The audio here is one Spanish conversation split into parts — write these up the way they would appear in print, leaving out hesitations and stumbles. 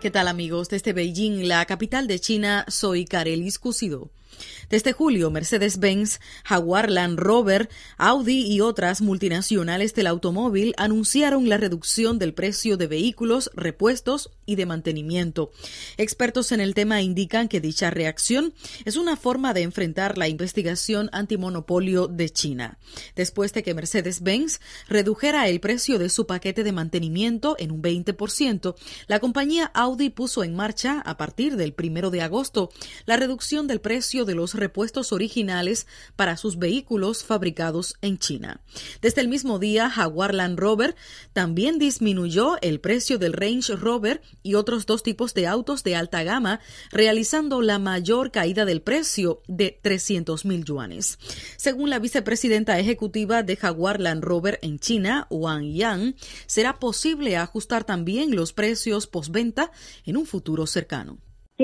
¿Qué tal, amigos? Desde Beijing, la capital de China, soy Carelis Cúsido. Desde julio, Mercedes-Benz, Jaguar Land Rover, Audi y otras multinacionales del automóvil anunciaron la reducción del precio de vehículos, repuestos y de mantenimiento. Expertos en el tema indican que dicha reacción es una forma de enfrentar la investigación antimonopolio de China. Después de que Mercedes-Benz redujera el precio de su paquete de mantenimiento en un 20%, la compañía Audi puso en marcha, a partir del 1 de agosto, la reducción del precio de los repuestos originales para sus vehículos fabricados en China. Desde el mismo día, Jaguar Land Rover también disminuyó el precio del Range Rover y otros dos tipos de autos de alta gama, realizando la mayor caída del precio de 300,000 yuanes. Según la vicepresidenta ejecutiva de Jaguar Land Rover en China, Wang Yang, será posible ajustar también los precios postventa en un futuro cercano.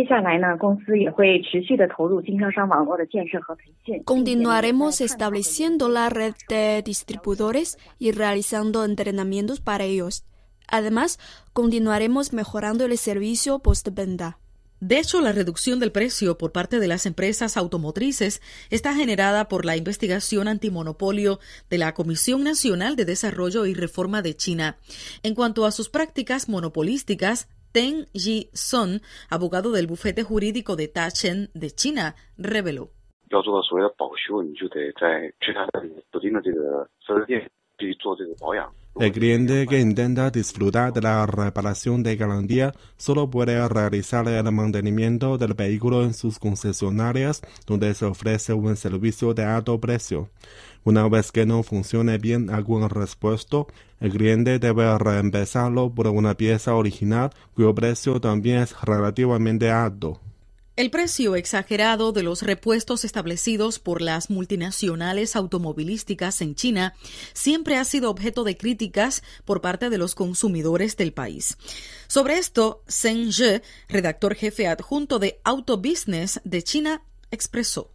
Continuaremos estableciendo la red de distribuidores y realizando entrenamientos para ellos. Además, continuaremos mejorando el servicio postventa. De hecho, la reducción del precio por parte de las empresas automotrices está generada por la investigación antimonopolio de la Comisión Nacional de Desarrollo y Reforma de China. En cuanto a sus prácticas monopolísticas, Teng Yi-son, abogado del bufete jurídico de Tachen de China, reveló. El cliente que intenta disfrutar de la reparación de garantía solo puede realizar el mantenimiento del vehículo en sus concesionarias, donde se ofrece un servicio de alto precio. Una vez que no funcione bien algún repuesto, el cliente debe reemplazarlo por una pieza original cuyo precio también es relativamente alto. El precio exagerado de los repuestos establecidos por las multinacionales automovilísticas en China siempre ha sido objeto de críticas por parte de los consumidores del país. Sobre esto, Zheng Zhe, redactor jefe adjunto de Auto Business de China, expresó.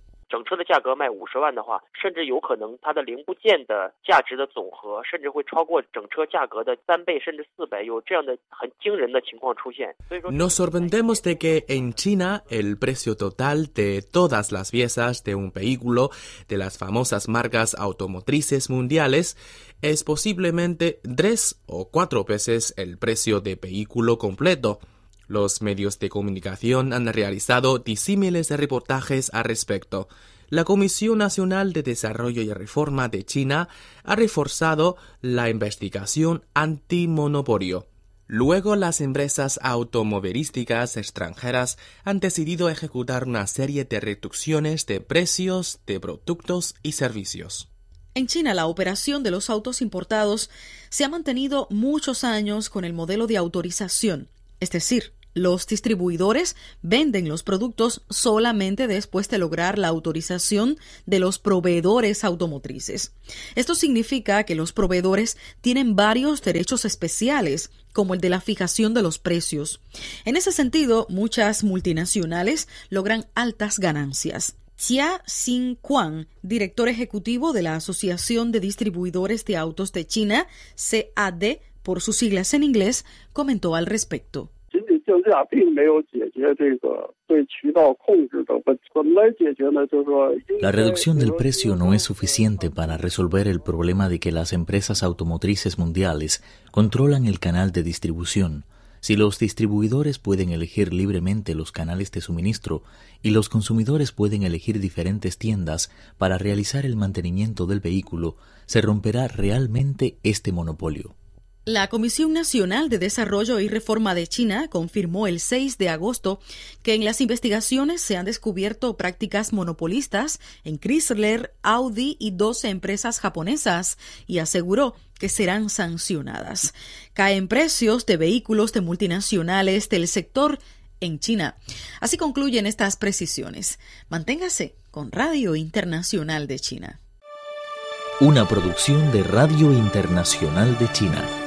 Nos sorprendemos de que en China el precio total de todas las piezas de un vehículo de las famosas marcas automotrices mundiales es posiblemente 3 o 4 veces el precio de vehículo completo. Los medios de comunicación han realizado disímiles reportajes al respecto. La Comisión Nacional de Desarrollo y Reforma de China ha reforzado la investigación antimonopolio. Luego, las empresas automovilísticas extranjeras han decidido ejecutar una serie de reducciones de precios de productos y servicios. En China, la operación de los autos importados se ha mantenido muchos años con el modelo de autorización, es decir, los distribuidores venden los productos solamente después de lograr la autorización de los proveedores automotrices. Esto significa que los proveedores tienen varios derechos especiales, como el de la fijación de los precios. En ese sentido, muchas multinacionales logran altas ganancias. Jia Xinquan, director ejecutivo de la Asociación de Distribuidores de Autos de China, CAD, por sus siglas en inglés, comentó al respecto. La reducción del precio no es suficiente para resolver el problema de que las empresas automotrices mundiales controlan el canal de distribución. Si los distribuidores pueden elegir libremente los canales de suministro y los consumidores pueden elegir diferentes tiendas para realizar el mantenimiento del vehículo, se romperá realmente este monopolio. La Comisión Nacional de Desarrollo y Reforma de China confirmó el 6 de agosto que en las investigaciones se han descubierto prácticas monopolistas en Chrysler, Audi y 12 empresas japonesas y aseguró que serán sancionadas. Caen precios de vehículos de multinacionales del sector en China. Así concluyen estas precisiones. Manténgase con Radio Internacional de China. Una producción de Radio Internacional de China.